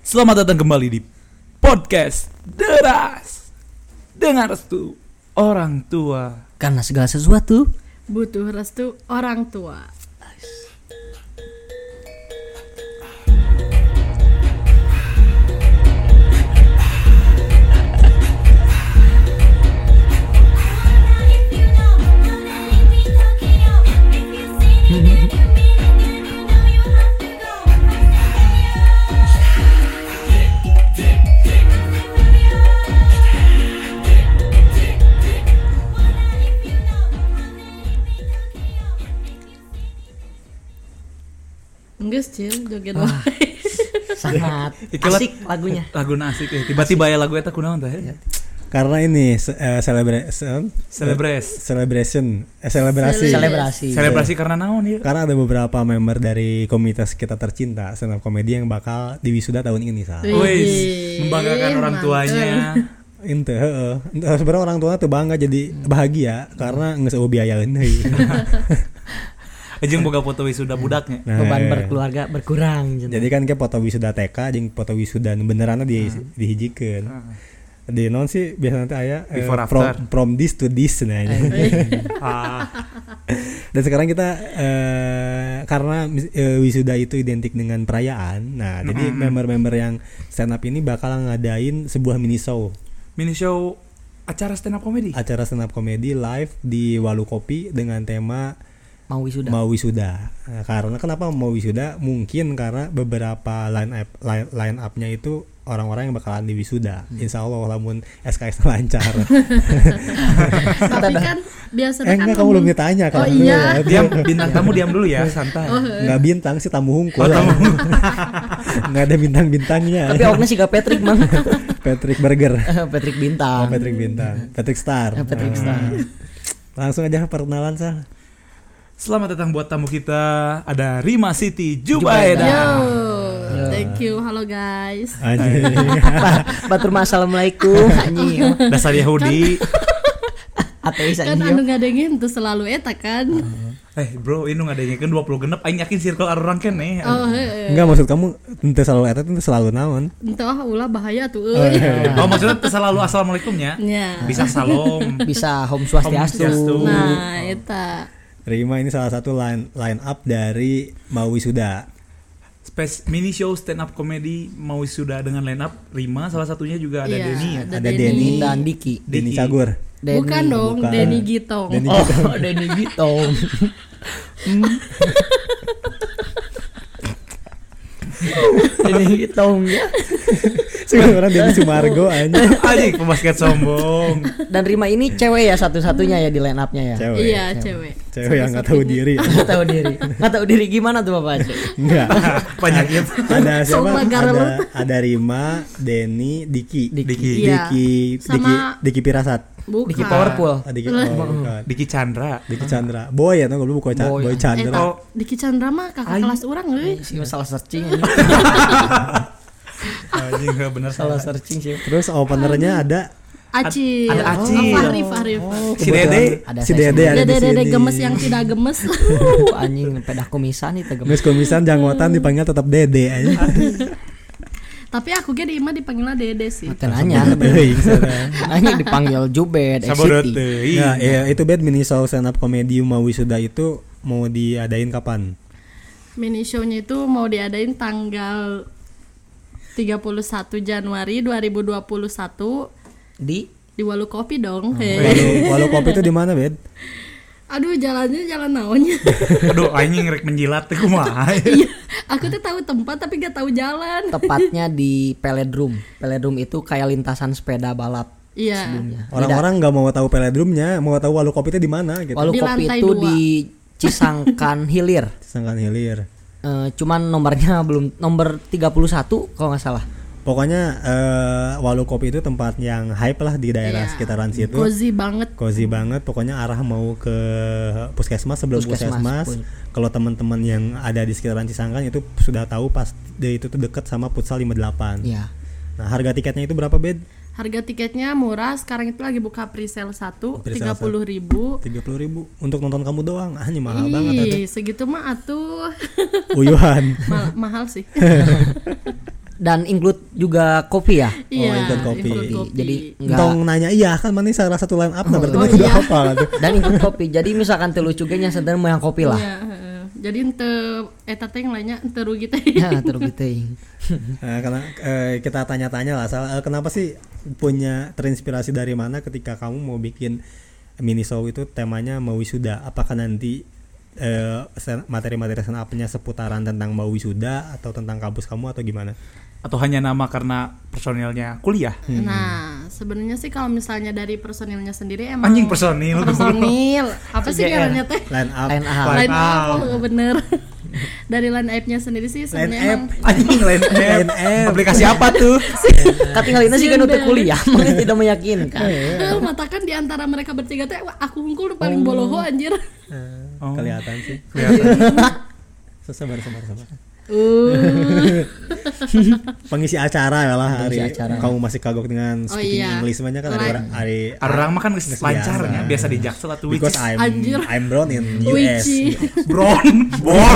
Selamat datang kembali di podcast Deras dengan restu orang tua. Karena segala sesuatu butuh restu orang tua. Enggak sih, joget wae. sangat Itulah asik lagunya. Lagu asik ya. Tiba-tiba ya lagu eta kunaon teh? Karena ini Selebrasi karena naon ya? Karena ada beberapa member dari komunitas kita tercinta stand up comedy yang bakal diwisuda tahun ini Sal. Wis, membanggakan orang tuanya. Ente sebenarnya orang tua tuh bangga jadi bahagia karena geus eueuh biayaeun deui. Jeung boga foto wisuda budaknya. Nah, Beban berkeluarga berkurang. jadi kan kayak foto wisuda TK jeung foto wisuda beneranna dihijikeun. Di non sih biasa nanti aya from this to this nah. Dan sekarang kita karena wisuda itu identik dengan perayaan. Nah, jadi member-member yang stand up ini bakal ngadain sebuah mini show acara stand up comedy live di Walu Kopi dengan tema mau wisuda. Nah, karena kenapa mau wisuda? Mungkin karena beberapa line up-nya itu orang-orang yang bakalan diwisuda. Insya Allah lamun SKS lancar. Tapi kan biasanya enggak, kamu belum ditanya kalau iya. Bintang tamu diam dulu ya, santai. Enggak bintang sih, tamu hungkul. Enggak ada bintang-bintangnya. Tapi awaknya sih gak Patrick mang. Patrick Burger. Patrick Bintang. Patrick Star. Star. Langsung aja perkenalan Sal. Selamat datang buat tamu kita, ada Rima Siti Jubaida. Thank you, halo guys. Anjing. Batur assalamualaikum anjing. Dasar Yahudi. Ateis Kan anu ngadengin tuh selalu eta kan. Bro, ini ngadengin 20 genep aing yakin circle orang keneh. Enggak, maksud kamu teu selalu eta teu selalu naon? Entah ulah bahaya tuh Maksudnya teu selalu assalamualaikumnya. Ya. Bisa salam, bisa Om Swastiastu. Nah, eta. Rima ini salah satu line up dari Mau Wisuda. Mini show stand up comedy Mau Wisuda dengan line up Rima, salah satunya juga ada Denny ya. Ada Denny dan Diki. Denny Cagur. Bukan dong, Denny Gitong. Denny Gitong. Denny Gitong ya. Sekarang Denny Sumargo anjing pembasket sombong. Dan Rima ini cewek ya satu-satunya ya di line up-nya ya. Cewek. Iya, cewek. Cewek yang enggak tahu diri. Enggak tahu diri gimana tuh Bapak? Enggak. Penyakit. Ada siapa? Ada Rima, Denny, Diki. Diki Pirasat. Bukan. Diki Powerful. Diki Chandra. Boy ya, tahu bukan Boy Chandra. Diki Chandra mah kakak kelas orang euy. Salah searching. Anjing enggak benar salah searching sih. Terus openernya ada Acil. Ada Acil. Fahrif. Si Dede ada di sini. Gemes yang tidak gemes. Anjing pedah kumisan itu gemes. Gemes kumisan janggotan dipanggil tetap Dede aja. Tapi aku ge di imah dipanggilnya Dede sih. Nanya. Anjing dipanggil Jubed, Sabodot. Nah, itu bed mini show stand up comedy Mau Wisuda itu mau diadain kapan? Mini show-nya itu mau diadain tanggal 31 Januari 2021 di Walu Kopi dong. Walu Kopi itu di mana, Bed? Aduh, jalannya jalan naonnya. Aduh, anjing rek menjilat teh kumaha. Iya, aku tuh tahu tempat tapi gak tahu jalan. Tepatnya di Peledrum. Peledrum itu kayak lintasan sepeda balap. Iya. Sebelumnya. Orang-orang nggak mau tahu Peledrumnya, mau tahu Walu Kopi itu di mana gitu. Walu Kopi itu 2. di Cisangkan Hilir. Cuman nomornya belum nomor 31 kalau nggak salah. Pokoknya Walu Kopi itu tempat yang hype lah di daerah sekitaran situ. Cozy banget. Pokoknya arah mau ke puskesmas sebelum puskesmas. Kalau teman-teman yang ada di sekitaran Cisangkan itu sudah tahu pas itu tuh dekat sama Futsal 58. Iya. Nah, harga tiketnya itu berapa, Bed? Harga tiketnya murah, sekarang itu lagi buka pre-sale 1 30.000. 30.000 untuk nonton kamu doang. Ini mahal banget segitu mah atuh. Uyuhan. Mahal sih. Dan include juga kopi ya? Iya, include kopi. Jadi enggak Tong nanya iya kan mana salah satu line up nah berarti mah udah apa tuh. Dan include kopi. Jadi misalkan teu lucu ge nya sadar mah yang kopi lah. Iya, jadi teu eta teh yang lainnya teu rugi teh. Ya, terugi teuing. Karena kita tanya-tanya lah kenapa sih punya terinspirasi dari mana ketika kamu mau bikin mini show itu temanya mau wisuda? Apakah nanti materi-materi stand up-nya seputaran tentang mau wisuda atau tentang kampus kamu atau gimana? Atau hanya nama karena personilnya kuliah? Nah, sebenarnya sih kalau misalnya dari personilnya sendiri emang Anjing personil apa sih ngarannya teh? Line up. Line up, bener. Dari line up-nya sendiri sih sebenarnya emang Anjing line up. Aplikasi apa tuh? Katinggalina sih kan udah kuliah, makanya tidak meyakinkan. matakan di antara mereka bertiga teh aku unggul paling boloho anjir. Kelihatan sih. Sabar. Pengisi acara ya lah hari kamu masih kagok dengan speaking English banyak kan hari orang mah kan lancarnya biasa di Jaksel atau because I'm born in US. Born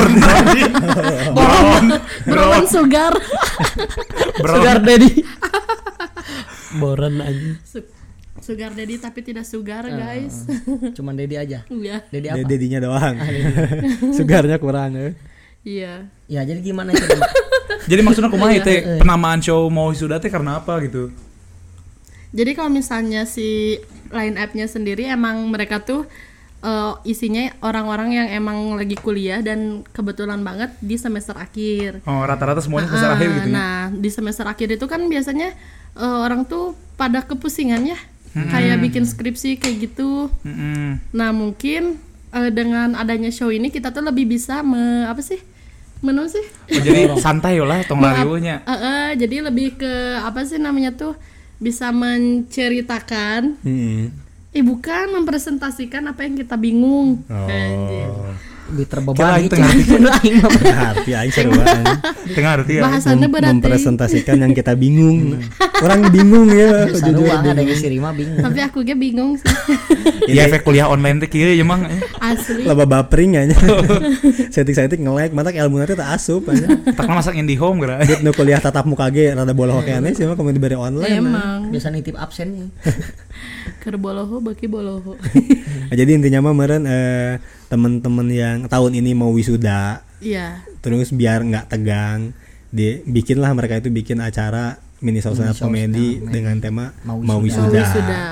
sugar daddy. Boran aja. Sugar daddy tapi tidak sugar guys. Cuman daddy aja. Iya. Daddy apa? Daddy-nya doang. Sugarnya kurang ya. Iya. Ya jadi gimana itu? Jadi maksudnya kumaha teh penamaan show mau wisuda teh karena apa gitu? Jadi kalau misalnya si line up-nya sendiri emang mereka tuh isinya orang-orang yang emang lagi kuliah dan kebetulan banget di semester akhir. Oh, rata-rata semuanya semester akhir gitu ya. Nah, di semester akhir itu kan biasanya orang tuh pada kepusingan ya. Kayak bikin skripsi kayak gitu. Nah, mungkin dengan adanya show ini kita tuh lebih bisa menurut sih. Oh, jadi santai lah tong lariweunya. Jadi lebih ke apa sih namanya tuh bisa menceritakan. Bukan mempresentasikan apa yang kita bingung. Lebih terbebani itu. Ngerti aing seru banget. Ngerti ya. Bahasannya berarti mempresentasikan yang kita bingung. Orang bingung ya. Jujur ada yang si Rima bingung. Tapi aku ge bingung sih. Iya efek kuliah online teh kieu ya mang. Asli. Loba bapering aja. Setting ilmu nanti tak asup aja. Tak masak IndiHome gara. Dit nu kuliah tatap muka ge rada boloho kene sih mah kamu diberi online. Emang. Biasa nitip absennya. Keur boloho baki boloho. Jadi intinya mah meureun teman-teman yang tahun ini mau wisuda. Iya. Terus biar enggak tegang, bikinlah mereka itu bikin acara mini show stand up comedy dengan tema mau wisuda.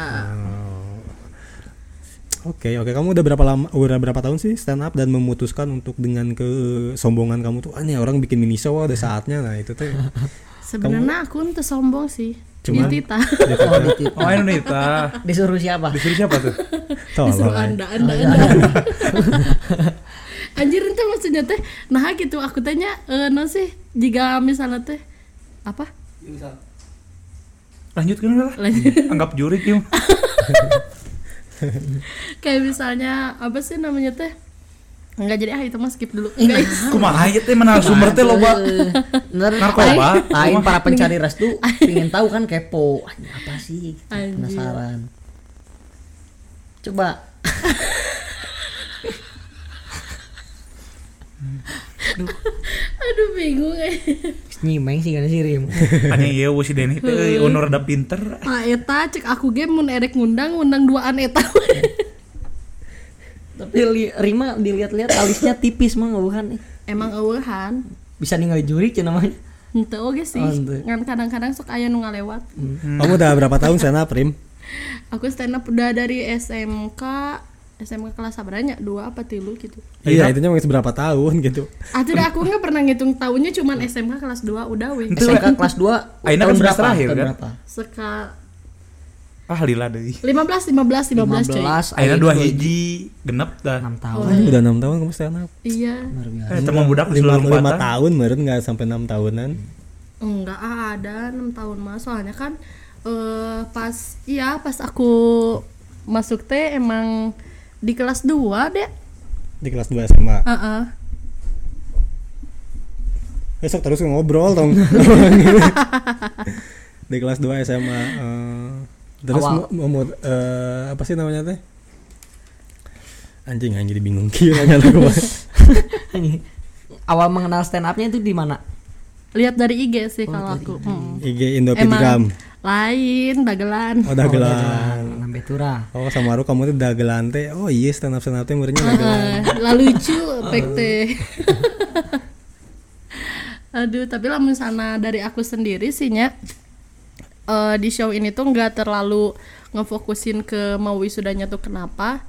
Oke, kamu udah berapa tahun sih stand up dan memutuskan untuk dengan kesombongan kamu tuh nih orang bikin mini show ada saatnya. Nah, itu tuh. Sebenarnya aku tuh sombong sih. Cuman Ditita. Oh, Nita. Disuruh siapa tuh? Disuruh anda. Anjir itu maksudnya teh nah gitu aku tanya no sih jika misalnya teh apa? Lanjutkan lah. Anggap jurik yuk. Kayak misalnya apa sih namanya teh? Enggak jadi itu mah skip dulu. Kumaha ieu teh narasumber teh loba. Narkoba. Lain para pencari restu pengen tahu kan kepo. Apa sih? Penasaran. Coba. Aduh bingung Nyimeng sih kan si Rim. Anya ieu si Deni teh honor rada pinter. Eta cek aku ge mun erek ngundang duaan eta. Tapi Rima dilihat-lihat alisnya tipis mah bukan nih. Emang eueuhan. Bisa ningali juri cenah mah. Henteu oge sih. Ngan kadang-kadang sok aya nu ngalewat. Kamu udah berapa tahun stand up, Rim? Aku stand up udah dari SMK kelas sabaranya 2 apa 3 gitu. Iya, itu masih berapa tahun gitu. Tidak aku enggak pernah ngitung tahunnya cuman SMK kelas 2 udah weh. SMK kelas 2 ayeuna kan semester akhir kan? Lila deui. 15 coy. Ayeuna 2 hiji genep dah 6 tahun. Udah 6 tahun kamu stand up. Iya. Teman budak 5 tahun meureun enggak sampai 6 tahunan. Enggak ada 6 tahun mah soalnya kan pas aku masuk teh emang di kelas 2 deh. Di kelas 2 SMA. Besok terus ngobrol dong. Di kelas 2 SMA. Terus apa sih namanya teh? Anjing jadi bingung kieu nanya aku. Awal mengenal stand up-nya itu di mana? Lihat dari IG sih kalau aku. IG Indopitgram. Lain dagelan. Oh dagelan. Nambe turah. Oh sama Ru kamu tuh dagelan teh. Oh iya stand up teh muridnya dagelan. Lah lucu pek teh. Aduh, tapi lah misalnya dari aku sendiri sih nya di show ini tuh nggak terlalu ngefokusin ke mau wisudanya tuh kenapa.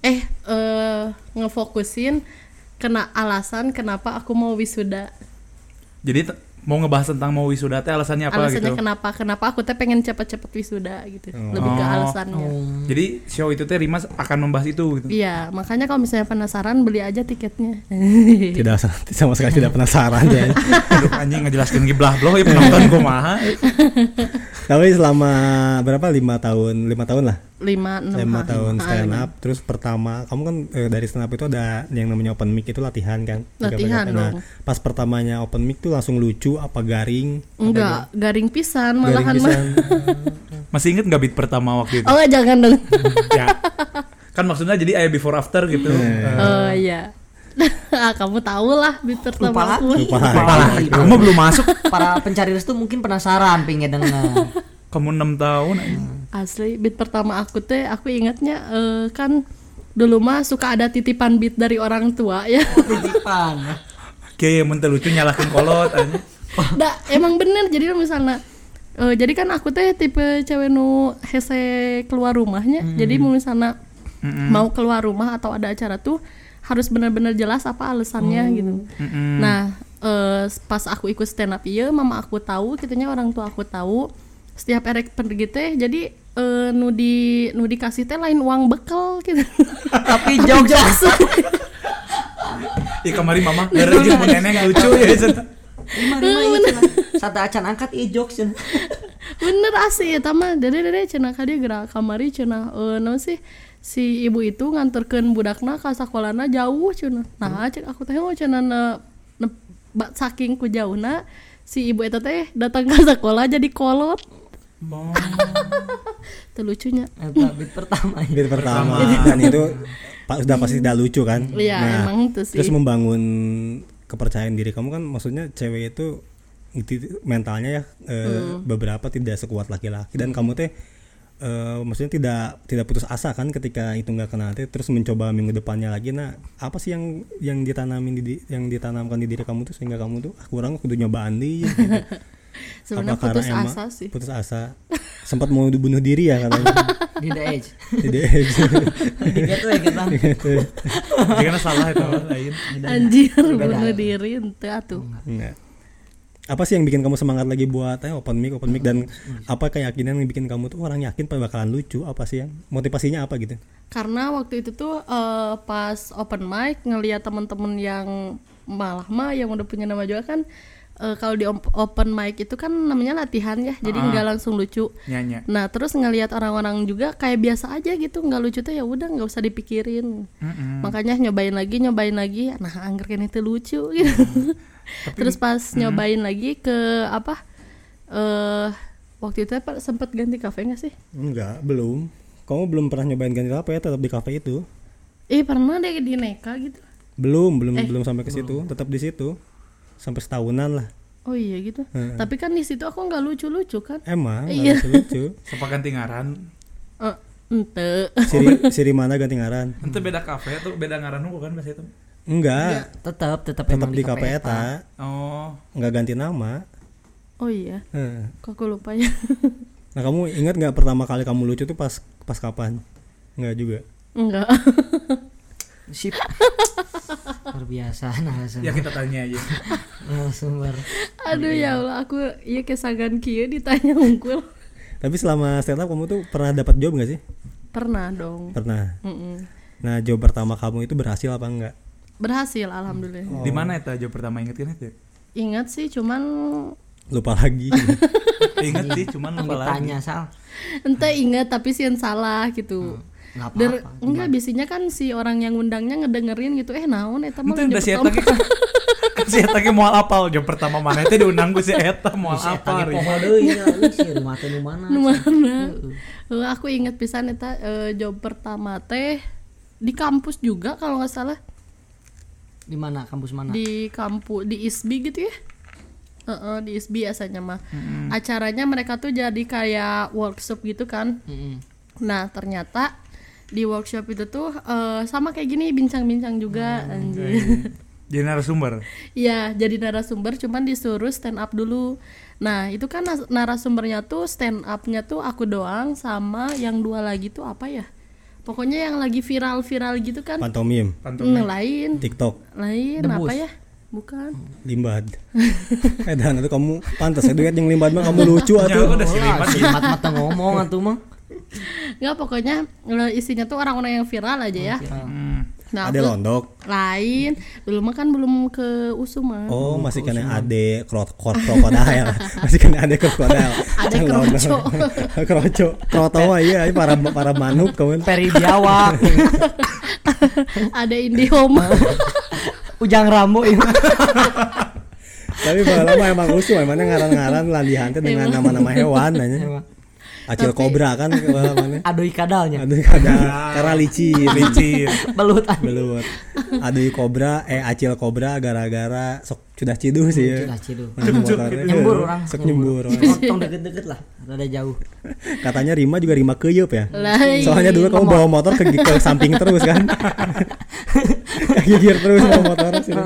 Ngefokusin kena alasan kenapa aku mau wisuda. Jadi mau ngebahas tentang mau wisuda teh alasannya apa Alasannya gitu? kenapa aku teh pengen cepet-cepet wisuda gitu. Lebih ke alasannya. Jadi show itu teh Rimas akan membahas itu gitu. Iya, makanya kalau misalnya penasaran beli aja tiketnya. Tidak sama sekali tidak penasaran ya. Aduh anjing ngejelaskeun giblah bloh ya penonton kumaha. Tapi selama berapa 5 tahun lah. 5 tahun stand up. Terus pertama kamu kan dari stand up itu ada yang namanya open mic itu latihan kan? Latihan dong. Pas pertamanya open mic tuh langsung lucu apa garing? Enggak, garing pisan malahan mah. Masih inget nggak beat pertama waktu itu? Oh jangan dong. Ya. Kan maksudnya jadi aya before after gitu. Oh iya. Kamu tahu lah beat pertama aku. Lupa lagi. Kamu belum masuk. Para pencari restu mungkin penasaran pengen denger. Kamu 6 tahun. Asli beat pertama aku teh aku ingatnya kan dulu mah suka ada titipan beat dari orang tua ya. Titipan. Oke, mun teu lucu nyalakeun kolot aja. Nah, emang bener jadi misalnya jadi kan aku teh tipe cewek nu hese keluar rumahnya. Jadi misalnya mau keluar rumah atau ada acara tuh harus benar-benar jelas apa alasannya gitu. Nah, pas aku ikut stand up ieu mama aku tahu, kitanya orang tua aku tahu. Setiap erek pergi teh jadi nu dikasih teh lain uang bekal gitu. Tapi jokes. Ih kamari mama gara jeung mun neneng lucu ya cenah. Lima satu acan angkat jokes. Bener asli eta mah. Dede cenah ka dieu gerak kamari cenah naon sih si ibu itu nganterkeun budakna ka sakolana jauh cenah. Nah, cek aku teh cenah saking ku jauhna si ibu eta teh datang ke sekolah jadi kolot. Itu lucunya. Beat pertama. Dan itu sudah pasti tidak lucu kan? Iya, emang itu sih. Terus membangun kepercayaan diri kamu kan, maksudnya cewek itu mentalnya ya beberapa tidak sekuat laki-laki dan kamu teh maksudnya tidak putus asa kan ketika itu nggak kena teh, terus mencoba minggu depannya lagi. Nah, apa sih yang ditanamkan di diri kamu tuh sehingga kamu tuh kurang kudu nyobaan nih gitu. Sebenarnya putus asa sih. Putus asa. Sempat mau bunuh diri ya katanya. Di the edge. Gitu. Jangan salah itu lain. Anjir bunuh diri ente atuh. Enggak. Apa sih yang bikin kamu semangat lagi buat open mic dan apa keyakinan yang bikin kamu tuh orang yakin bakalan lucu? Apa sih yang motivasinya apa gitu? Karena waktu itu tuh pas open mic ngelihat teman-teman yang yang udah punya nama juga kan. Kalau di open mic itu kan namanya latihan ya, jadi nggak langsung lucu. Nyanyi. Nah terus ngelihat orang-orang juga kayak biasa aja gitu, nggak lucu tuh ya udah nggak usah dipikirin. Makanya nyobain lagi. Nah anggerkan itu lucu gitu. Terus pas nyobain lagi ke waktu itu sempat ganti kafe nggak sih? Enggak, belum. Kamu belum pernah nyobain ganti kafe ya, tetap di kafe itu? Pernah deh di Neka gitu. Belum sampai ke situ, tetap di situ. Sampai setahunan lah. Oh iya gitu. Tapi kan di situ aku nggak lucu-lucu kan? Emang iya. lucu. Sepak ganti ngaran. Ente. Siri mana ganti ngaran? Ente beda kafe atau beda ngaran bukan pas itu? Enggak. Tetap Tetap di kafe eta. Oh. Enggak ganti nama. Oh iya. Kok aku lupa ya. Nah kamu ingat nggak pertama kali kamu lucu tuh pas kapan? Enggak juga. Enggak. Sip. Luar biasa Ya kita tanya aja. Sumber. Aduh ya Allah, aku kesagan kieu ditanya unggul. Tapi selama stand up kamu tuh pernah dapat job nggak sih? Pernah dong. Pernah. Nah job pertama kamu itu berhasil apa enggak? Berhasil alhamdulillah. Di mana eta job pertama inget kan itu? Ingat sih cuman lupa lagi. Ingat sih cuman lupa lagi. Tanya Sal. Ente ingat tapi sih yang salah gitu. Enggak biasanya kan si orang yang ngundangnya ngedengerin gitu naon eta mah job pertama. Si eta ge moal apal job pertama mana teh diundang ku si eta moal apal. Si eta poho deui si rumah teh nu mana. Aku inget pisan eta job pertama teh di kampus juga kalau enggak salah. Di mana? Kampus mana? Di kampus di ISBI gitu ya. Di ISBI biasanya mah. Acaranya mereka tuh jadi kayak workshop gitu kan. Nah ternyata di workshop itu tuh sama kayak gini, bincang-bincang juga. Anjir. Jadi narasumber. Iya, jadi narasumber, cuman disuruh stand up dulu. Nah itu kan narasumbernya tuh stand upnya tuh aku doang sama yang 2 lagi tuh apa ya? Pokoknya yang lagi viral-viral gitu kan. Pantomim. Lain. TikTok. Lain Debus. apa ya? Bukan. Limbad. Dan itu kamu pantas duet yang Limbad mah kamu lucu Ya atuh. udah si Limbad. Limat mata ngomong atuh mah. Nggak, pokoknya isinya tuh orang-orang yang viral aja ya. Nah, Ade aku Londok. lain. Dulu mah kan belum ke USU mah. Oh, masih kena ade krokodil. Masih kena ade krokodil. Ade kroco. Kroco. Kroto mah iya para manuk kawan. Peri Biawak. Ada IndiHome. Ujang Rambo itu. Tapi lama emang usul emangnya ngaran-ngaran landihan teh dengan nama-nama hewan nanya. Acil kobra kan mana? Aduh kadalnya. Aduh karena licin. Belut. Aduh kobra acil kobra gara-gara sok sudah ciduh sih ya. Sudah ciduh. Nyembur orang. Sok nyembur. Nonton deket-deket lah, rada jauh. Katanya Rima juga Rima keyeup ya. Lain. Soalnya dulu kamu bawa motor ke samping terus kan. Gigir terus bawa motor sih.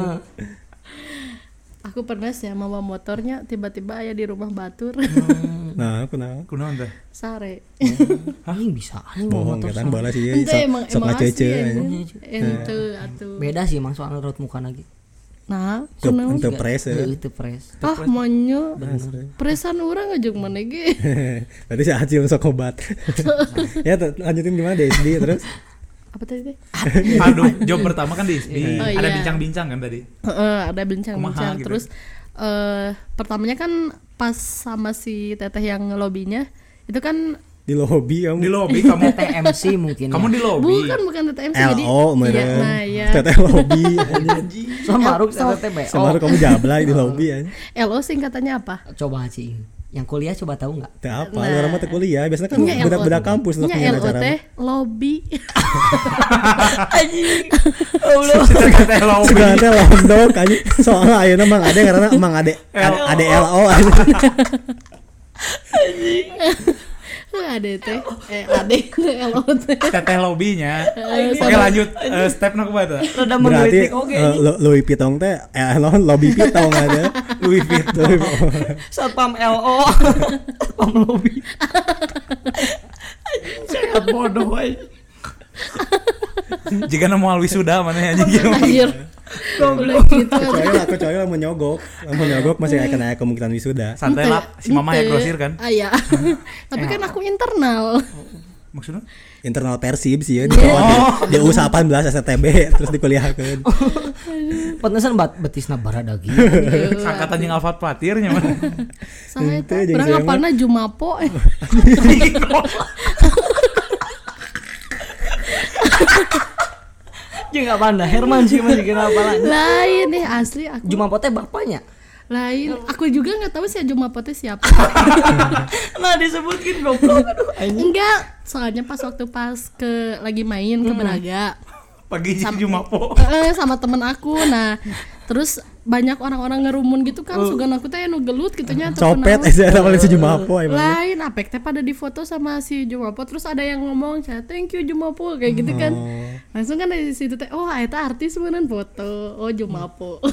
Aku pernah sih sama bawa motornya, tiba-tiba aya di rumah batur. Nah, kenapa? Kunaon teh? Sare. Anjing bisa anjing Bohong motor kan sama. balas sih Ente emang ngacece. ente atuh. Beda sih emang soal raut muka lagi. Nah, kunaon? Untuk pres ya. Itu pres. Ah, monyo. Presan urang aja mana ge. Tadi si Acil sok obat. Ya lanjutin gimana DSD terus? Apa tadi teh? Aduh, job pertama kan di ISBI. Oh, Ada iya. bincang-bincang kan tadi. Ada bincang-bincang. Kumaha gitu. Terus pertamanya kan pas sama si teteh yang ngelobinya itu kan Di lobby kamu. Di lobby kamu. TMC mungkin. Kamu di lobby. bukan TTMC jadi LO meren. iya, nah ya. Teteh lobby. sama Maruk TTB. Semaru kamu jablay di lobby ya. LO singkatannya apa? Coba sih. Yang kuliah coba tahu enggak? Teh apa? Orang mah teh kuliah. Biasanya kan Nya budak-budak kampus Nya punya LO acara. teh lobby. Teh lobby. Segala teh londok aja. Soalnya ayeuna mang ade karena mang ade LO aja. Ada teh ada LO teh. Teteh lobbynya. Oke lanjut. Step nak apa tuh? Rada Berarti menggelitik oke. Louis Pitong teh lobby Pitong ada. Louis Vuitton. Satpam LO. Satpam lobby. Sangat bodoh aja. Jika nemu wisuda mana aja gitu. Anjir. Udah gitu. Kecuali lah mau nyogok masih akan ada kemungkinan wisuda. Santai lah, si mama yang grosir kan. Iya. Tapi kan aku internal. Maksudnya? Internal Persib sih ya di U18 STB terus dikuliahkeun. Pantesan betisna baradagi. Sangkatan yang Alfat Patirnya mana? Saya Ente, teh jeung urang saya mah. apalna Jumapo. Jeung apanda Herman sih masih kenapa lah. Lain nih asli aku. Jumapo teh bapaknya. Lain. Aku juga enggak tahu sih Jumapo teh siapa. Nah disebutkin goblok aduh. Enggak, soalnya pas lagi main ke Braga. Pagi si Jumapo. Sama temen aku. Nah, terus banyak orang-orang ngerumun gitu kan, sugan aku teh nu gelut gitunya Copet aja sama si Jumapo emang. lain apek teh pada difoto sama si Jumapo, terus ada yang ngomong thank you Jumapo kayak gitu kan. Langsung kan dari situ teh oh eta artis beneran foto. Oh Jumapo.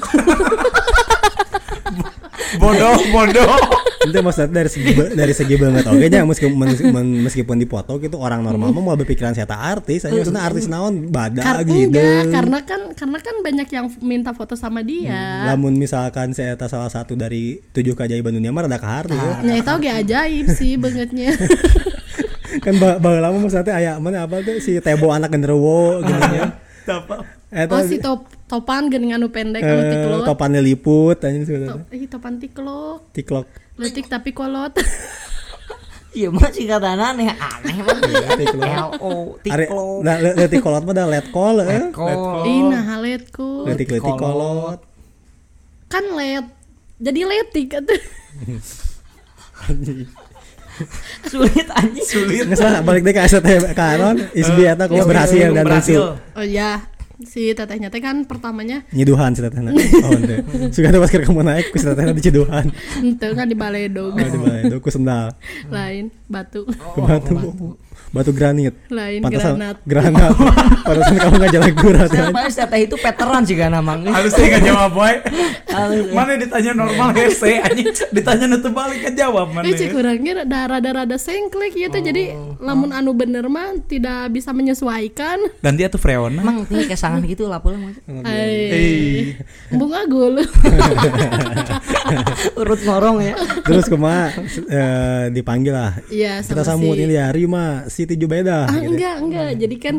Bodoh. Itu maksudnya dari segi banget oke nya meskipun dipoto gitu orang normal mah mau berpikiran saya artis aja maksudnya artis naon badak gitu. Enggak, karena kan banyak yang minta foto sama dia. Lamun misalkan saya salah satu dari 7 keajaiban dunia mah rada kahar ya. Nya eta ge ajaib sih bangetnya. Kan baheula mah maksudnya aya mana apa tuh si Tebo anak genderuwo gitu nya. Oh si topan geuning anu pendek anu tiklot. Topan liput anjing sebenarnya. Topan tiklok. Tiklok. Letik tapi kolot. Iya mah singkatan aneh mah. LO tiklok. Nah, letik kolot mah da let call Ih nah letku. Letik kolot. Kan let. Jadi letik atuh. Sulit anjing. Nggak salah balik deh ke ST kanon ISBI eta kok berhasil dan lucu. Oh iya. si tetehnya teh kan pertamanya nyiduhan si tetehna. Oh ente. Suga teh pas kamu naik ku si tetehna diciduhan. ente kan di baledog. Oh di balai ku sendal. Lain batu. Batu granit. Lain Pantesan granat. Granat. Pantesan kamu enggak jalan berat kan. Padahal teteh itu veteran sih kan namang. Halus teh enggak jawab boy. Mana ditanya normal hese anjing ditanya nu teu balik ka jawab mana. Cik kurangnya rada sengklek ya tuh jadi lamun anu bener mah tidak bisa menyesuaikan. Ganti atuh freona. Emang ini kesangan gitu lah pula mas. Bunga gul. Urut ngorong ya. Terus kumaha dipanggil lah. Iya Kita sama sambut si ini ya Rima Siti Jubaida. enggak. Jadi kan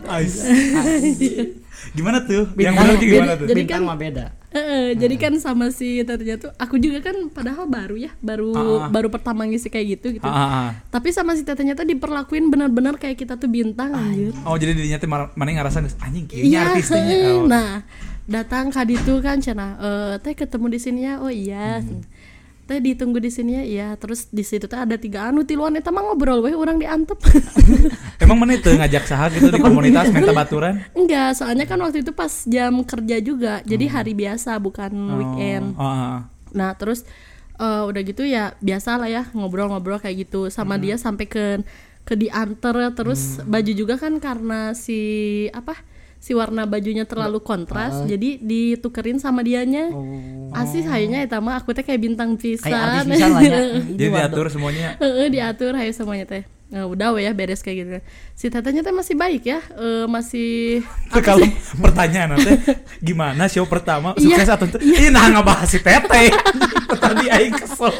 Gimana tuh? Yang benar gimana tuh? Jadi Bintang kan mah beda. jadi kan sama si tetenya tuh aku juga kan padahal baru pertama ngisi kayak gitu. Tapi sama si tetenya tuh diperlakuin benar-benar kayak kita tuh bintang anjir. Oh jadi dirinya teh mana ngerasa anjing kieu Iya, artisnya. Oh. Nah, datang ka ditu kan cenah teh ketemu di sini ya. Oh iya. Teh ditunggu di sini ya. Iya, terus di situ teh ada 3 tiluan eta mah ngobrol we urang diantep. Emang mana itu ngajak saha gitu di komunitas minta baturan? Enggak, soalnya kan waktu itu pas jam kerja juga. Jadi hari biasa bukan weekend. Nah, terus udah gitu ya biasa lah ya ngobrol-ngobrol kayak gitu sama dia sampai ke diantar terus baju juga kan karena si warna bajunya terlalu kontras jadi ditukerin sama dianya. Asih kayaknya eta mah aku teh kayak bintang pisan. Kayak artis pisan lah ya. Jadi diatur semuanya. Diatur hayu semuanya teh. Nah, udah we ya beres kayak gitu. Si tetenya teh masih baik ya. Masih Kalau pertanyaan teh gimana show pertama sukses atau ih nah ngebahas si teteh. Tadi aing kesel.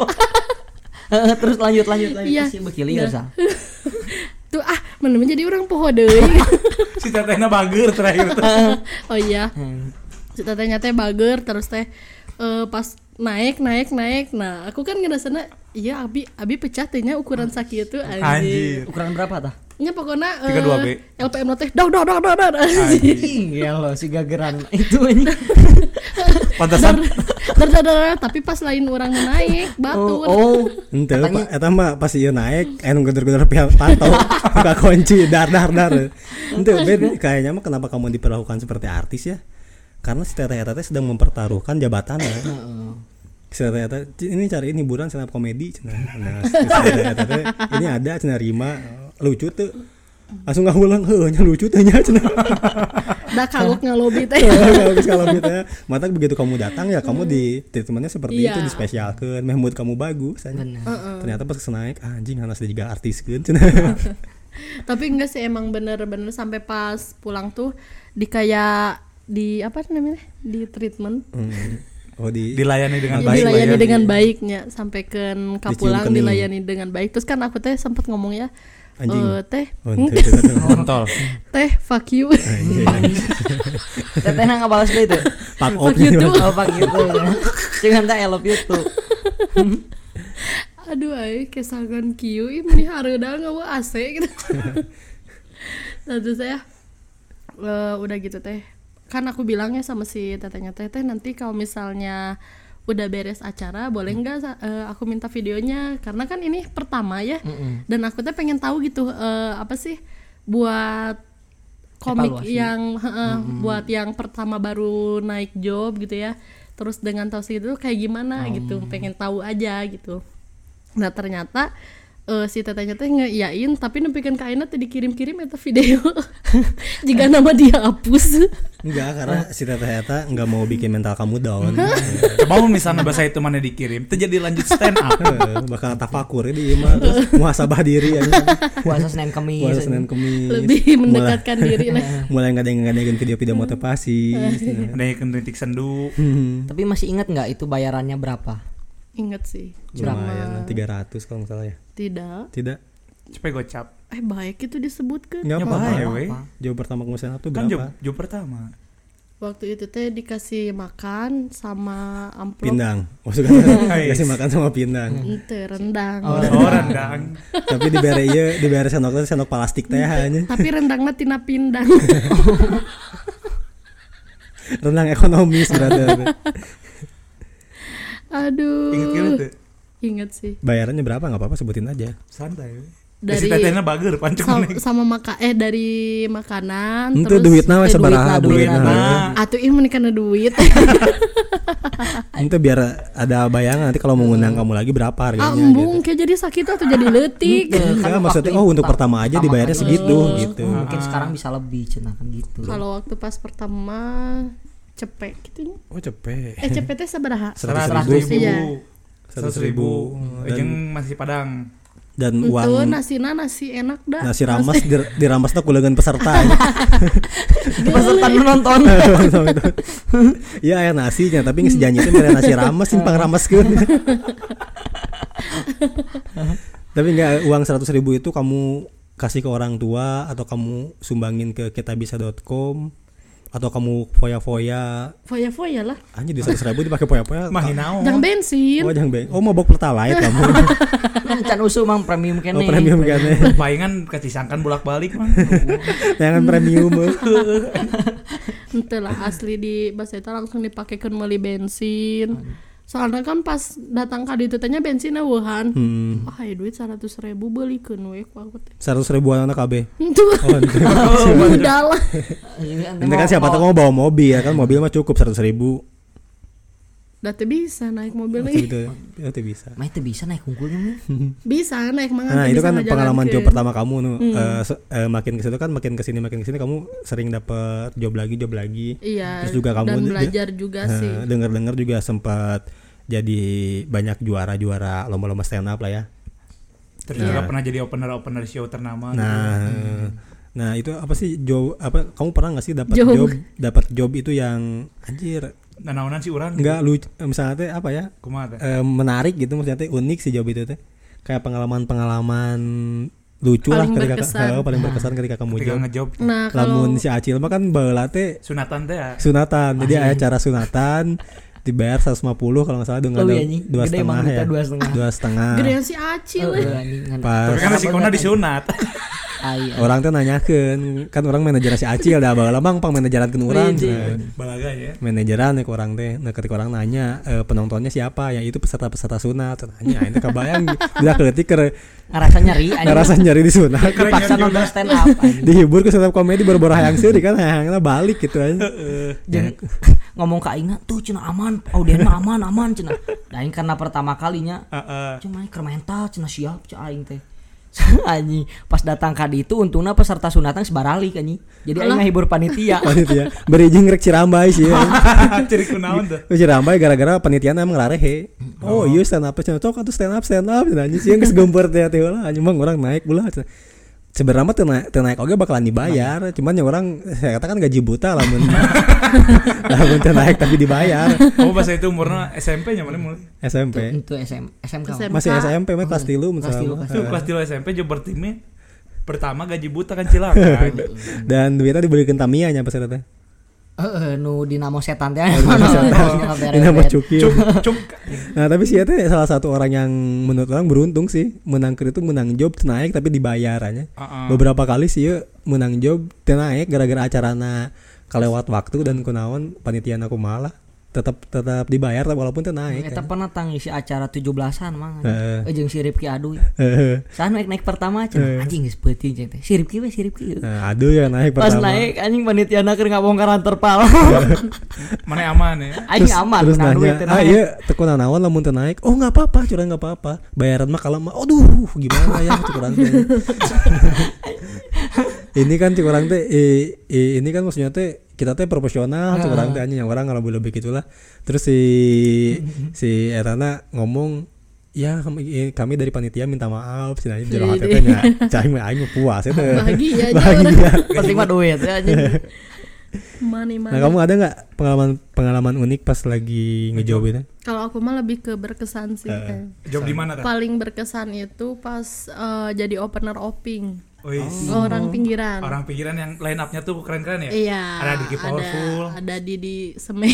Terus lanjut Iya. si bekili ya Sal. Tuh mana menjadi orang poho deui. Si tetehna bager terakhir tuh. Oh iya. Si tetenya teh bager terus teh pas naik. Nah, aku kan ngerasana iya abi pecah tehnya ukuran sakit tuh anjir. Ukuran berapa tah? Nya pokoknya 32B. LPM teh dah Anjing ya lo si gageran itu anjing. Pantesan dar tapi pas lain orang naik batur. Ente eta mah pas ieu naik anu geder-geder panto buka kunci dar. Ente kayaknya mah kenapa kamu diperlakukan seperti artis ya? Karena si teteh sedang mempertaruhkan jabatannya. Si teteh ini cari hiburan stand up komedi cenah. Nah, si teteh ini ada cenah Rima lucu tuh. Langsung ngahulang nya lucu teh nya cenah. Da kagok ngalobi teh. Kalau gitu mata begitu kamu datang ya kamu di treatmentnya seperti itu dispesialkeun meh mood kamu bagus ternyata pas naik anjing hanas juga artiskeun cenah. Tapi enggak sih emang bener-bener sampai pas pulang tuh di kayak di apa namanya di treatment. Dilayani dengan baik. Dilayani dengan baiknya sampai ke kapulang dilayani dengan baik. Terus kan aku teh sempat ngomong ya teh kontol. Teh fuck you. Teteh nggak balas itu. Fuck you tuh. Fuck you tuh. Jangan tak I love you tuh. Aduh kesangan kieu ini hareudang eueuh AC gitu. Terus saya udah gitu teh. Kan aku bilangnya sama si tetenya teh nanti kalau misalnya udah beres acara boleh nggak aku minta videonya karena kan ini pertama ya dan aku tuh pengen tahu gitu apa sih buat komik evaluasi. Yang buat yang pertama baru naik job gitu ya terus dengan tahu segitu kayak gimana gitu pengen tahu aja gitu. Nah ternyata si tetenya teh ngeiyain tapi nepikeun ka ayeuna teh dikirim-kirim eta video. Jika nama dia hapus. Enggak, karena si teteh eta enggak mau bikin mental kamu down. Coba misalnya bahasa itu mana dikirim, itu jadi lanjut stand up. Bakal tafakur di imah terus muhasabah diri aja. Puasa Senin Kamis. Lebih mendekatkan diri lah. Mulai ngadeng-ngadengin video-video motivasi. Ngadengin titik sendu. Tapi masih ingat enggak itu bayarannya berapa? Ingat sih. Lumayan 300 kalau enggak salah ya. Tidak. Cepet gocap. Baik itu disebutkan. Enggak apa-apa. We. Jauh pertama kamu stand up tuh kan berapa? Job pertama. Waktu itu teh dikasih makan sama amplop. Pindang. Maksudnya dikasih makan sama pindang. Ente rendang. Rendang. Tapi dibere sendok plastik teh hanya. Tapi rendangna tina pindang. Rendang ekonomis berarti. Aduh. Ingat tuh. Ingat sih. Bayarannya berapa? Nggak apa-apa sebutin aja. Santai. dari tetehna bager pancung sama dari makanan itu terus duitna we sabaraha duitna. Atuh ieu meni kana duit. Itu biar ada bayangan nanti kalau mau ngundang kamu lagi berapa harganya embung gitu. kayak jadi sakit atau jadi leutik. Kan maksudnya untuk pertama aja dibayarnya segitu gitu. Mungkin sekarang bisa lebih cenah kan gitu. Kalau waktu pas pertama cepet gitu. Oh cepet. Cepet teh sabaraha? 100.000. Iya. 100.000. Jeung masih Padang. Dan Itu uang nasi enak dah. nasi ramas diramasna ku leungeun peserta. Peserta nu nonton. Iya aya nasinya tapi geus janji teh mere nasi ramas simpang ramaskeun. Tapi enggak uang 100.000 itu kamu kasih ke orang tua atau kamu sumbangin ke kitabisa.com atau kamu foya-foya lah. Anjir di 100.000 dipakai foya-foya Mah naon? Jangan bensin. Oh jangan oh mau bok pertalite kamu. Can usu mang premium kene. Oh premium kene. Palingan ketisangkan bolak-balik mah. Jangan premium. Henteu lah asli di bahasa eta langsung dipakekeun meuli bensin. Soalnya kan pas datang ka ditu teh nya bensin eueuhan. Aya duit 100.000 beulikeun we ku aku teh. 100.000 anak KB. Oh, udah lah. Ini kan siapa tahu mau bawa mobil ya kan mobil mah cukup 100.000. Da teh bisa naik mobil Itu nih. itu bisa. Mah teh bisa naik unggulnya mah. Bisa naik mangan. Nah, itu kan pengalaman job pertama kamu nu makin ke situ kan makin ke sini kamu sering dapat job lagi. Iya. Terus juga kamu dan belajar juga sih. Dengar juga sempat jadi banyak juara lomba-lomba stand up lah ya. Terus juga pernah jadi opener show ternama. Nah, itu apa sih kamu pernah enggak sih dapat job itu yang anjir naonan sih urang enggak lucu misalnya teh apa ya kumaha teh menarik gitu maksudnya teh unik sih job itu teh kayak pengalaman lucu paling lah berkesan. paling berkesan ketika kamu ngejob. Nah, kalau lamun si Acil mah kan baheula teh sunatan teh ya. Jadi aya acara sunatan dibayar 150 kalau enggak salah dengan 2,5 ya 2,5 gedean si Acil. pas Tapi kan resikonya disunat. orang tuh nanyakeun kan orang manajer si Acil dah baheula mah pang manajerankeun urang. Balaga ya. Manajeran ke orang teh. Nah, ketika orang nanya penontonnya siapa? Ya itu peserta sunat. Nanya itu kebayang udah keleutik ke ngerasa nyari di sunat. Kepaksa nonton stand up. Dihibur ke stand up comedy baru-baru hayang seuri kan hayangna balik gitu aja. Ngomong ka aing tuh cenah aman, audien mah aman cenah. Da aing karena pertama kalinya. Cuma keur mental cenah siap cek aing teh. Anjing pas datang ka ditu untungna peserta sunatan sebaralik anjing. Jadi aing ngahibur panitia. Beri jeung rek Cirambai sih. Ciri kunaon tuh? Cirambai gara-gara panitia emang larehe. Oh, iya stand up cenah tok atuh stand up anjing sih geus gempeur teh heula anjing mah urang naik ulah. Sebenarnya mah teu naik oge bakalan dibayar, cuman ya orang saya katakan gaji buta lamun teu naik tapi dibayar. Kamu pas itu umurna SMP nya mana mulai? SMP. Itu SMK. Masih SMP mah kelas 3 misalnya. Kelas 3 SMP jo bertime pertama gaji buta kan cilaka. Dan duitnya dibelikeun Tamiya nya pas eta teh. Nu dinamo setan teh. Dinamo Cukil. Cuk. Nah, tapi sih teh salah satu orang yang menurut orang beruntung sih, menang job naik tapi dibayarannya. Beberapa kali sih menang job teu naik gara-gara acarana kalewat waktu dan kunaon panitiana aku malah tetap dibayar walaupun teu naik. Eta pernah ngisi acara 17-an mah. Jeung si Ripki Aduy. Saha naik pertama cenah anjing geus peuting cenah teh. Si Ripki. Nah, aduh ya naik pertama. Pas naik anjing panitiana keur ngabongkaran terpal. Mana aman ya? Aing aman terus nanya, iya teu naon lamun teu naik. Oh, enggak apa-apa, curang enggak apa-apa. Bayaran mah kalem mah. Aduh, gimana ya curang teh. Ini kan curang teh ini kan maksudnya teh kita teh profesional, orang teh anjing orang kalau lebih gitulah. Terus si Erana ngomong, "Ya kami dari panitia minta maaf." Cenah jero hate teh nya cai mah aing puas eta. Bahagia. Penting mah duit ya anjing. Money. Nah, kamu ada enggak pengalaman unik pas lagi ngejob itu? Kalau aku mah lebih ke berkesan sih. Job di mana tah? Paling berkesan itu pas jadi opener oping. Orang pinggiran yang line up-nya tuh keren-keren ya? Iya. Ada Diki Powerful. Ada Didi Semen.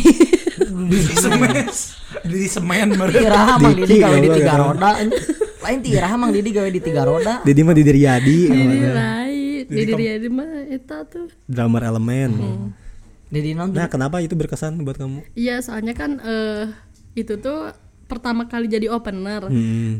Didi Semen baru. Tirah mang Didi gawe di 3 roda. Lain tirah mang Didi gawe di 3 roda. Didi mah Didi Riyadi. Didi Riyadi mah eta tuh drummer elemen. Didi nonton. Nah, kenapa itu berkesan buat kamu? Iya, soalnya kan itu tuh pertama kali jadi opener.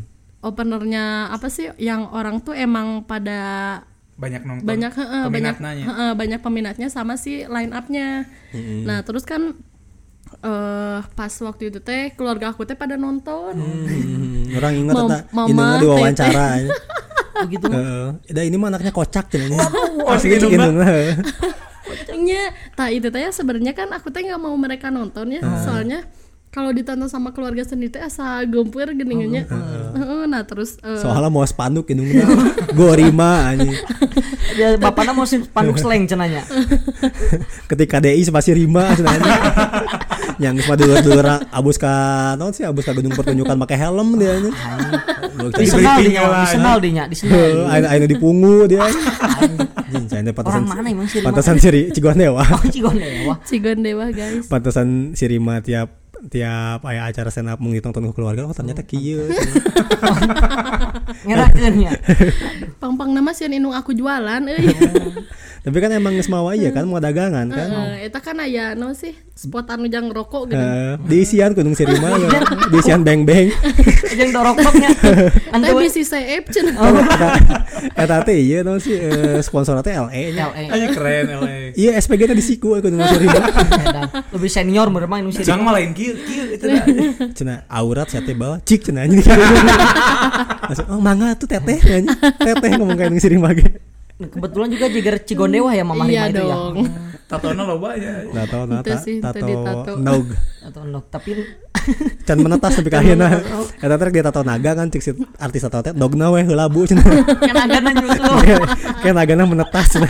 openernya apa sih yang orang tuh emang pada banyak nonton, banyak peminatnya sama si line up-nya. Nah terus kan pas waktu itu teh keluarga aku teh pada nonton. Orang ingat ini mah diwawancara. Begitu. Ini mah anaknya kocak cenanya. Asli Kocaknya. Nah itu teh sebenarnya kan aku teh nggak mau mereka nonton ya, soalnya kalau ditonton sama keluarga sendiri teh asa gempur geningannya. Nah terus soalnya mau spanduk ini gorima anjing. Ya bapaknya mau spanduk slang cenanya. Ketika DI spasi Rima cenanya. Yang semua dulur abus ka naon sih abus ka gedung pertunjukan pakai helm dia nya. Disenal dinya. Ayo dipungu dia. Anjing pantasan si Cigondewa. Cigondewa guys. Pantasan si Rima tiap aya acara stand up mung ditonton ku keluarga ternyata kieu. Ngerakeun nya. Pang-pang nama sieun indung aku jualan euy. Tapi kan emang geus mawa ieu kan mau dagangan kan. Eta kan aya naon sih spot anu jang rokok gitu. Diisian kudu si Rima diisian beng-beng. Jeung doroknya. Ante bisi CF cenah. Eta teh ieu naon sih sponsor teh LE nya. Aja keren LE. Iya SPG teh di siku kudu si Rima. Lebih senior meureun mah nu si. Jangan malain kieu itu dah. Cenah aurat saya teh bawa cik cenah anjing. Oh mangga tuh teteh anjing. Teteh ngomong kayak si Rima ge. Kebetulan juga Jiger Cigondewa ya Mama Rima itu ya. Tatona loba ya. Tato nog. Tato nog tapi can menetas tapi kahina. Eta teh dia tato naga kan cik si artis tato teh dogna we heula bu cenah. Kan nagana nyusul. Kan nagana menetas cenah.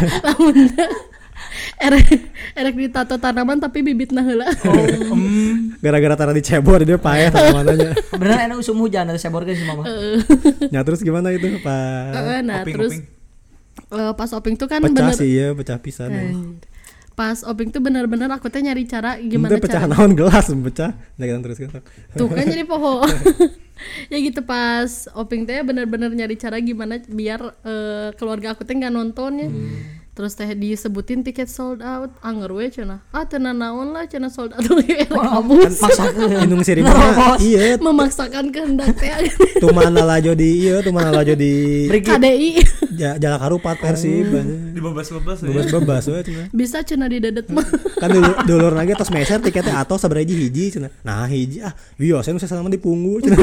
Erek ditato tanaman tapi bibitna heula. Gara-gara tara dicebor dia paeh tanamannya. Beneran enak usum hujan ada cebor geus Mama. Ya terus gimana itu Pak? Nah terus pas oping tuh kan pecah sih ya, pecah pisan. Pas oping tuh bener-bener aku teh nyari cara gimana cara. Pecah naon gelas pecah. Nah terus kan. Tuh kan jadi poho. Ya gitu pas oping teh bener-bener nyari cara gimana biar keluarga aku teh nggak nontonnya. Terus teh disebutin tiket sold out, anger we cenah. Tenan naon lah cenah sold out lagi. Maksakeun. Indung si Rima. Iya. Memaksakan kehendak teh. Tumana lajo di KDI. Jalak harupat Persib. Di bebas we cenah. Bisa cenah di dedet mah. Kan dulur lagi tos meser tiketnya atau sabaraha hiji cenah. Nah hiji iya saya nu sasana dipunggu cenah.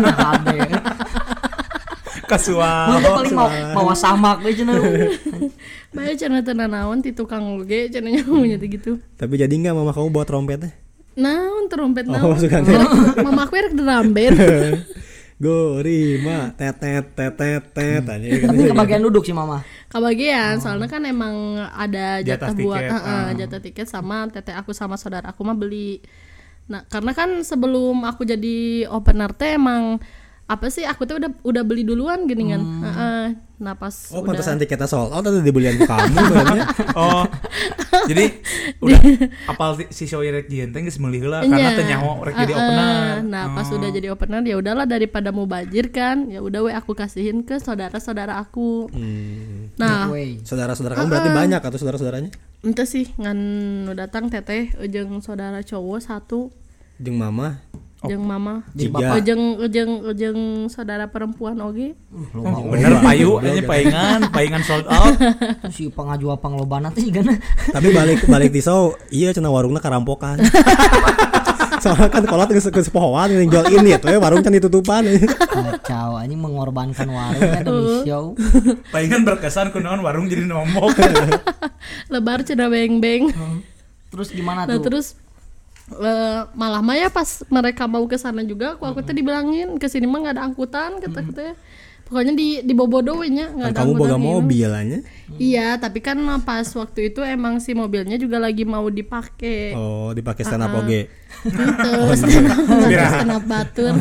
Kasual. Paling mau samak we cenah. Bae cenah tenan naon ti tukang oge cenahnya ngomongnya gitu. Tapi jadi enggak mama kamu bawa trompetnya? Naon trompet naon? Mama aku rek drum band. Gorima tetet Tapi kebagian duduk sih Mama. Kebagian soalnya kan emang ada jatah buat jatah tiket sama teteh aku sama saudara aku mah beli. Nah, karena kan sebelum aku jadi opener teh emang apa sih aku tuh udah beli duluan gini kan. Nah pas pantesan tiketnya sold out atau dibelian ke kamu sebenarnya. Jadi udah apal si show rek jieun teh geus meuli heula karena teh nyaho rek jadi opener. Nah pas udah jadi opener ya udahlah daripada mau bajir kan ya udah aku kasihin ke saudara-saudara aku. Nah saudara-saudara kamu berarti banyak atau saudara-saudaranya? Ente sih ngan datang teteh jeung saudara cowok satu jeung mama jeung mama bapak jeung saudara perempuan oge. Bener payu aja paingan sold out. Si pangajua panglobana teh gana. Tapi balik di show iya cenah warungna karampokan. Soalnya kan kolot geus pohoan jual ini tuh warung can ditutupan. Kacau anjing mengorbankan warung demi show. Paingan berkesan kunaon warung jadi nombok. Lebar cenah beng-beng. Terus gimana tuh? Nah terus malah Maya pas mereka mau ke sana juga aku teh dibilangin ke sini mah enggak ada angkutan kata-kata. Pokoknya di Bobodo we nya enggak ada angkutan. Kamu boga mobil anya? Iya, tapi kan pas waktu itu emang si mobilnya juga lagi mau dipakai. Oh, dipakai stand up oge. Terus stand up batur.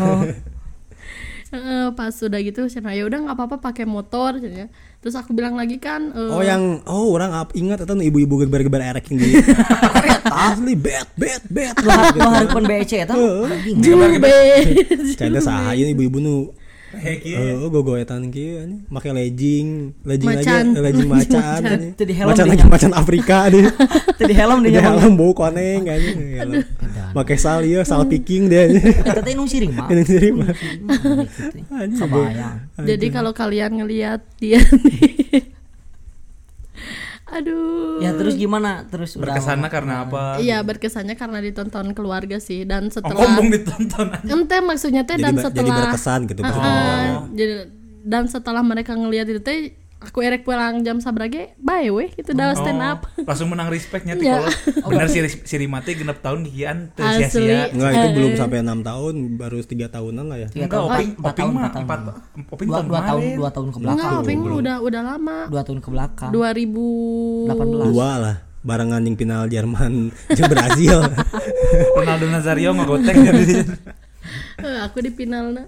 Pas udah gitu cenah ya udah enggak apa-apa pakai motor cenah. Terus aku bilang lagi kan orang ingat itu ibu-ibu geber-geber erek ini. Asli bet. Lo hareupeun BEC eta. Canda saha ieu ibu-ibu nu gogoetan kieu anjing make legging Macan. aja legging macan anjing Teu di helm macan di lagi macan Afrika deh Teu di helm di di helm bau koneng anjing make sal ieu sal picking deh anjing Eta teh nu siring mah. ini sendiri mah Anjing kebayang. Jadi kalau kalian ngelihat dia nih aduh. Ya terus gimana? Terus berkesannya karena apa? Iya, berkesannya karena ditonton keluarga sih dan setelah ngomong ditonton aja. ente maksudnya teh dan setelah jadi berkesan gitu jadi dan setelah mereka ngelihat itu teh aku erek pulang jam sabrage bae weh gitu dah stand up. Langsung menang respectnya tuh Ya. kalau bener si Rimate genep tahun kikian teu Asli. sia-sia. enggak itu belum sampai 6 tahun baru 3 tahunan lah ya 3 Enggak, tahun, Oping 4 tahun, mah 4 tahun. 4 Oping tahun kemarin. 2 tahun ke Enggak, belakang. Oping udah lama. 2 tahun ke belakang. 2018. 2 lah barengan yang final Jerman jeung Brazil Ronaldo Nazario ngogotek jadi. Aku di finalna.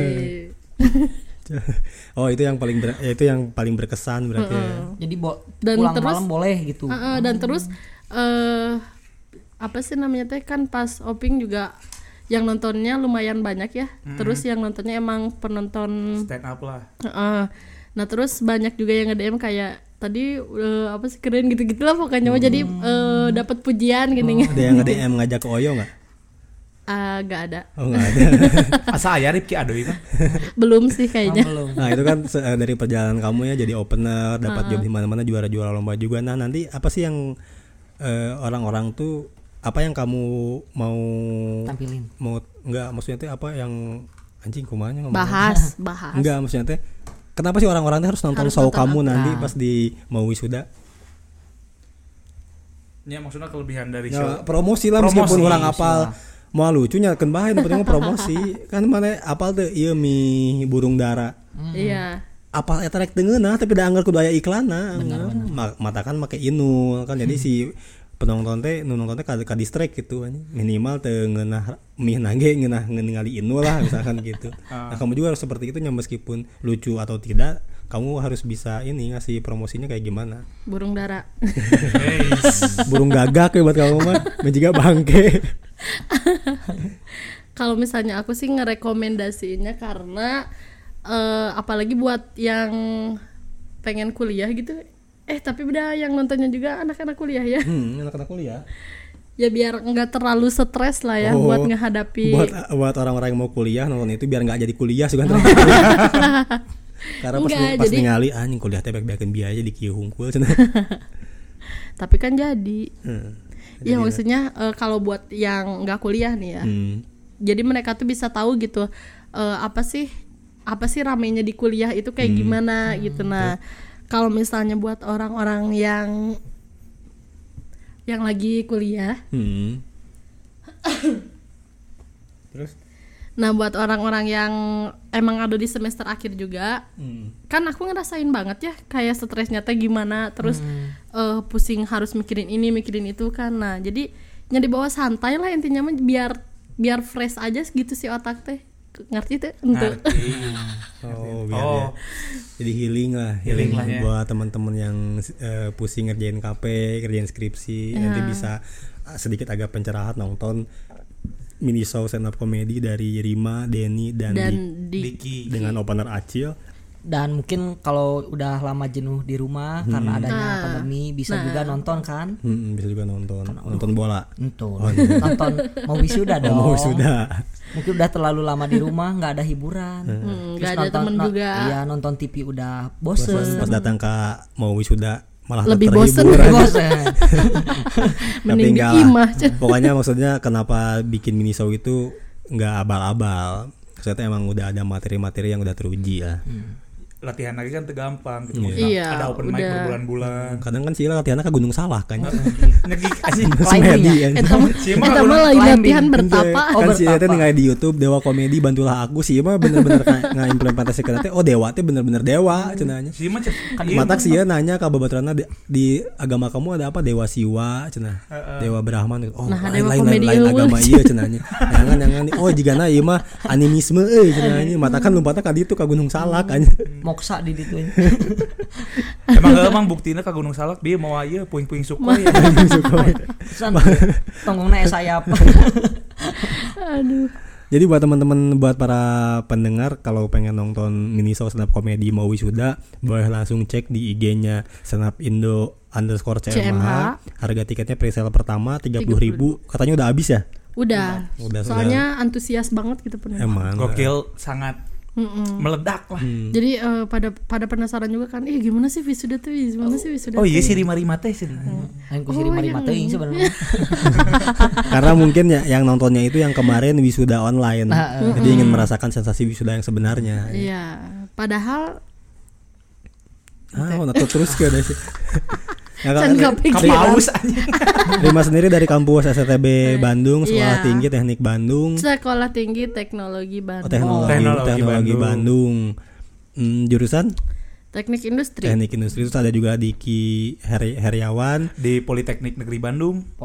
oh itu yang paling berkesan berarti ya. Jadi Dan pulang terus- malam boleh gitu. Dan terus apa sih namanya teh kan pas Oping juga yang nontonnya lumayan banyak ya. Terus yang nontonnya emang penonton Stand up lah. nah terus banyak juga yang nge-DM kayak tadi apa sih keren gitu-gitu lah pokoknya mah jadi dapat pujian gini. Ada yang nge-DM ngajak ke Oyo nggak? Gak ada. Oh nggak ada. Asa aya Ripki Adoy kan. Belum sih kayaknya. Belum. Nah itu kan dari perjalanan kamu ya jadi opener, dapat job di mana-mana, juara-juara lomba juga. Nah nanti apa sih yang orang-orang tuh apa yang kamu mau Tampilin. mau nggak maksudnya tuh apa yang anjing kumanya ngomong? Bahas. Enggak maksudnya teh kenapa sih orang-orang tuh harus nonton show kamu apa? nanti pas di mau wisuda? Ya maksudnya kelebihan dari Ya, show. promosi lah Promosi, meskipun orang apal lah. mau lucunya kan bae nu penting mah promosi kan mana apal teh ieu mie burung dara Iya. apal eta rek teu ngeunah tapi da anggar kudu aya iklanna matakan make inul kan jadi si penonton teh nu nonton teh ka distract gitu minimal teu ngeunah mie nage ngeunah ningali inul lah misalkan gitu. Nah kamu juga harus seperti itu meskipun lucu atau tidak kamu harus bisa ini ngasih promosinya kayak gimana. Burung dara. Burung gagak ya buat kamu mah menjaga bangke. Kalau misalnya aku sih ngerekomendasiinnya karena apalagi buat yang pengen kuliah gitu. Tapi udah yang nontonnya juga anak-anak kuliah ya. Anak-anak kuliah. Ya biar nggak terlalu stres lah ya buat ngehadapi. Buat orang-orang yang mau kuliah nonton itu biar nggak jadi kuliah juga. Karena pas ningali anjing kuliah teh beak-beakeun biaya di kieu hungkul cenah. Tapi kan jadi. Ya maksudnya kalau buat yang nggak kuliah nih ya. Jadi mereka tuh bisa tahu gitu apa sih ramenya di kuliah itu kayak gimana gitu. Nah, kalau misalnya buat orang-orang yang lagi kuliah. Terus Nah, buat orang-orang yang emang ada di semester akhir juga, kan aku ngerasain banget ya kayak stresnya teh gimana, terus pusing harus mikirin ini, mikirin itu kan. Nah, jadi yang dibawa santai lah intinya mah biar fresh aja gitu sih otak teh. Ngerti tuh? Ngerti. biar ya. Jadi healing lah ya. Buat teman-teman yang pusing ngerjain KP, ngerjain skripsi, nanti bisa sedikit agak pencerahan nonton mini show stand up comedy dari Rima, Denny dan Diki dengan opener Acil. Dan mungkin kalau udah lama jenuh di rumah karena adanya pandemi bisa juga nonton kan? Bisa juga nonton bola. Nonton mau wisuda dong. Mau wisuda. Mungkin udah terlalu lama di rumah nggak ada hiburan. Nggak ada temen juga. Iya nonton TV udah bosen. Pas datang ke mau wisuda malah lebih bosen. Mending di lah. imah. Pokoknya maksudnya kenapa bikin mini show itu nggak abal-abal. Maksudnya emang udah ada materi-materi yang udah teruji lah. Latihan lagi kan gampang gitu. Iya, ada open mic berbulan-bulan. Kadang kan sih latihannya ke Gunung Salak kan. Ngegik anjing. Semedi kan. Eta mah lagi latihan bertapa. Kan sih teh ningali di YouTube Dewa Komedi bantulah aku sih mah bener-bener ngaimplementasikan teh Dewa teh bener-bener dewa cenanya. Si mah matak sih ya nanya ka babaturana di agama kamu ada apa Dewa Siwa cenah. Dewa Brahman. Oh, lain agama ieu cenanya. Jangan oh jigana ieu mah animisme cenanya. Matakan lompatna ka ditu ka Gunung Salak kan. Moksa di ditu. Emang buktinya ke Gunung Salak dia mau aja puing-puing Sukhoi ya. Tonggongna sayap. Aduh. Jadi buat teman-teman, buat para pendengar, kalau pengen nonton minishow stand up comedy mau wisuda, boleh langsung cek di IG-nya stand_up_indo_CMH. Harga tiketnya pre-sale pertama 30.000. Katanya udah habis ya? Udah. Soalnya antusias banget gitu penuh. Emang. Gokil, sangat meledak lah. Jadi pada penasaran juga kan, gimana sih wisuda tuh? Gimana sih wisuda? Oh iya sih rima-rima teh sih. Aku sih rima-rima teuing sebenarnya. Karena mungkin ya yang nontonnya itu yang kemarin wisuda online. Jadi ingin merasakan sensasi wisuda yang sebenarnya. Iya, padahal terus ke ada sih. Kapaus anjing. Rima sendiri dari kampus STB Bandung, Sekolah Tinggi Teknik Bandung. Sekolah Tinggi Teknologi Bandung. Teknologi Bandung. Jurusan Teknik Industri. Teknik Industri. Terus ada juga Diki Heriawan di Politeknik Negeri Bandung.